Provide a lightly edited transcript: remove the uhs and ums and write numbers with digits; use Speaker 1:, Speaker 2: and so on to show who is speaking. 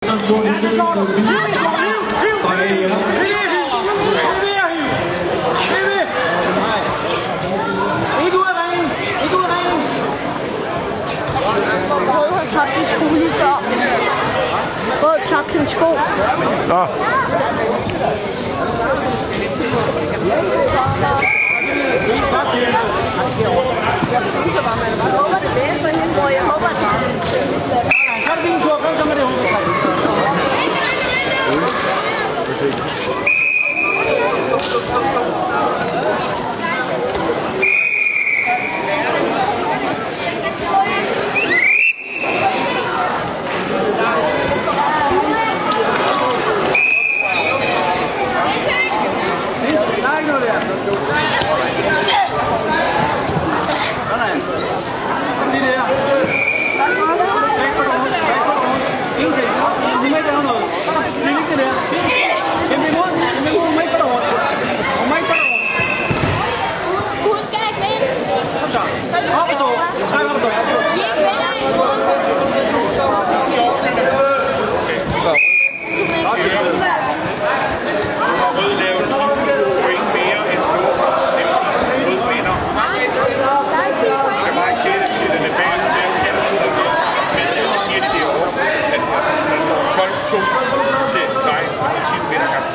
Speaker 1: Rød har tabt en sko lige før. Rød tabte en sko.
Speaker 2: Nå.
Speaker 1: Jeg håber,
Speaker 3: til dig, og 10 meter